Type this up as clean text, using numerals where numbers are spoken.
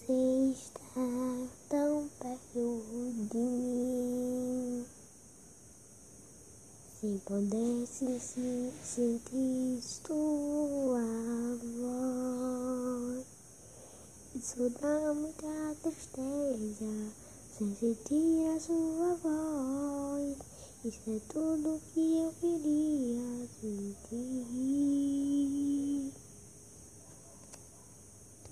você está tão perto de mim. Se pudesse sentir tua voz, isso dá muita tristeza, sem sentir a sua voz. Isso é tudo que eu queria sentir.